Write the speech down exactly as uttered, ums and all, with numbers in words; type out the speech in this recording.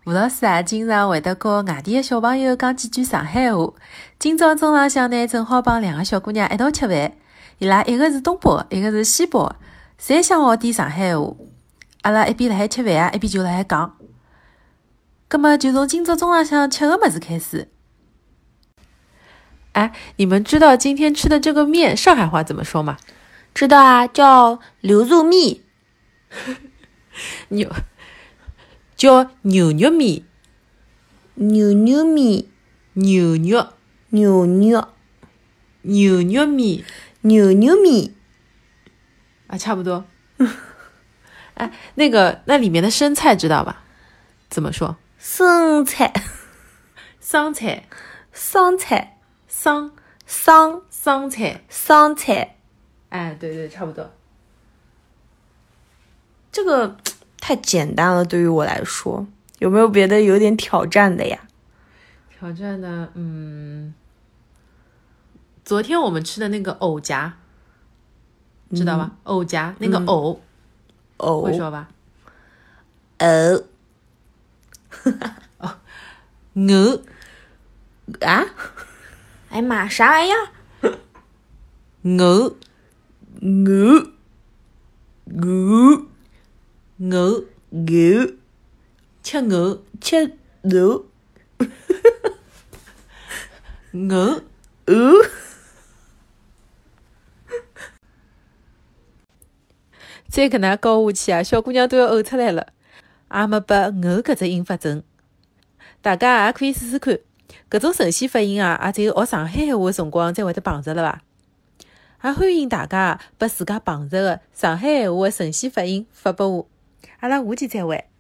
吴老师啊，经常会得教外地的小朋友讲几句上海话。今朝中浪向呢，正好帮两个小姑娘一道吃饭。伊拉一个是东北的，一个是西北的，侪想学点上海话。阿拉一边辣海吃饭啊，一边就辣海讲。葛么就从今朝中浪向吃个物事开始。哎，你们知道今天吃的这个面上海话怎么说吗？ 知道啊，叫牛肉面。 牛叫牛肉面， 牛肉面， 牛肉牛肉牛肉面， 牛肉面啊，差不多。哎，那个那里面的生菜知道吧？怎么说？ 生菜， 桑菜， 桑菜， 桑桑桑菜， 桑菜。 哎，对对，差不多。 这个太简单了，对于我来说，有没有别的有点挑战的呀？ 挑战的，嗯，昨天我们吃的那个藕夹，知道吧？藕夹那个藕， 藕会说吧？ 藕哦，鹅啊？哎妈，啥玩意儿？ 鹅鹅鹅鹅鹅， 吃鹅吃鹅鹅鹅。 再搿能教下去啊，小姑娘都要呕出来了。也没拨鹅搿只音发准，大家也可以试试看。搿种神仙发音啊，也只有学上海话的辰光才会得碰着了伐？也欢迎大家把自家碰着的上海话的神仙发音发拨我。阿拉下期再会。